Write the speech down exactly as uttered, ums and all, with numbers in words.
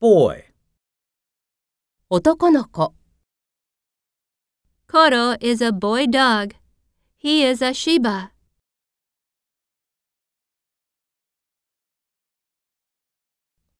boy. 男の子。 Koro is a boy dog. He is a Shiba.